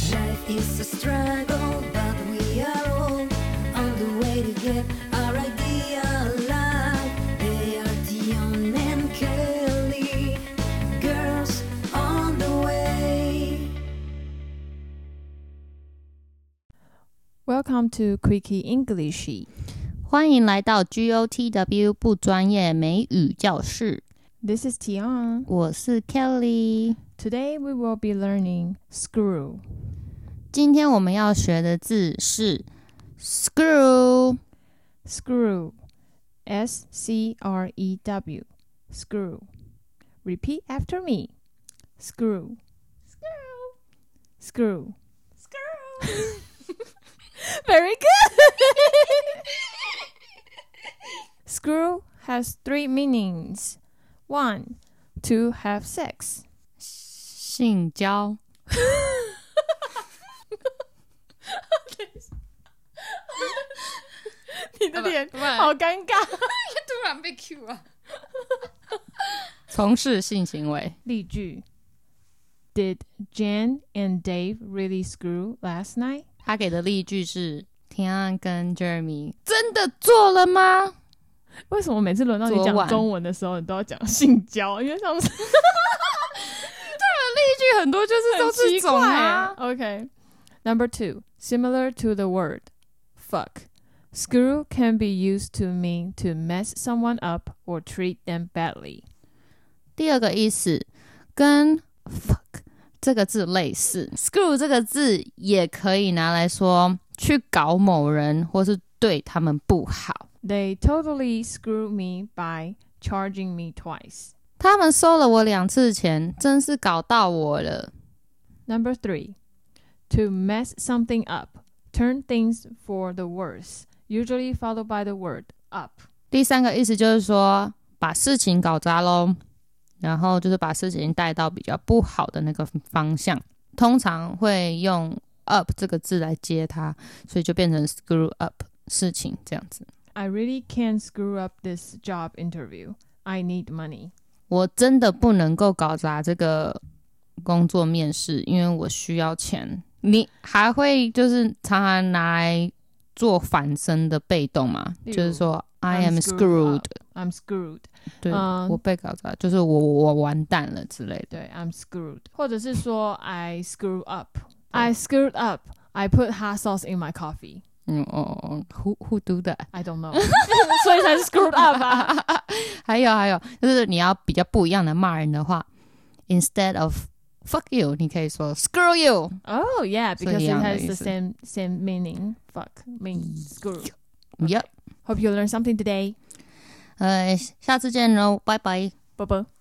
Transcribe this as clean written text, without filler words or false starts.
Life is a struggle, but we are all on the way to get our idea alive. They are Dion and Kelly, girls on the way. Welcome to Quickie English. 欢迎来到 GOTW 不专业美语教室。 This is Tian. 我是 Kelly。 Today we will be learning screw. 今天我们要学的字是 screw。 Screw. S-C-R-E-W. Screw. Repeat after me. Screw. Screw. Screw. Very good. Screw has three meanings. 1. To have sex. 性交。 你的脸好尴尬。 突然被 Q 啊。从事性行为。 例句 Did Jan and Dave really screw last night? 他给的例句是天安跟 Jeremy 真的做了吗？ 为什么每次轮到你讲中文的时候你都要讲性交？因为上次例句很多就是都是这种啊。 Okay. Number 2. Similar to the word fuck. Screw can be used to mean to mess someone up or treat them badly. 第二个意思跟 fuck 这个字类似， screw 这个字也可以拿来说去搞某人或是对他们不好。 They totally screwed me by charging me twice. 他们收了我2次钱，真是搞到我了。 Number 3. To mess something up. Turn things for the worse. Usually followed by the word up. 第3个意思就是说把事情搞砸咯，然后就是把事情带到比较不好的那个方向，通常会用 up 这个字来接它，所以就变成 screw up 事情这样子。 I really can't screw up this job interview. I need money. 我真的不能够搞砸这个工作面试，因为我需要钱。你还会就是常常拿来做反身的被动吗？就是说 I am screwed. I'm screwed. 对，我被搞砸，就是我完蛋了之类的。 对 I'm screwed. 或者是说 I screw up. I screwed up. I put hot sauce in my coffee. Who do that? I don't know. 所以才是 screwed up 啊。 还有，就是你要比较不一样的骂人的话 ，instead of fuck you， 你可以说 screw you. Oh yeah, because it has the 是 same meaning. Fuck means screw. Yep. Hope you learned something today. 下次见喽，拜拜。 啵啵。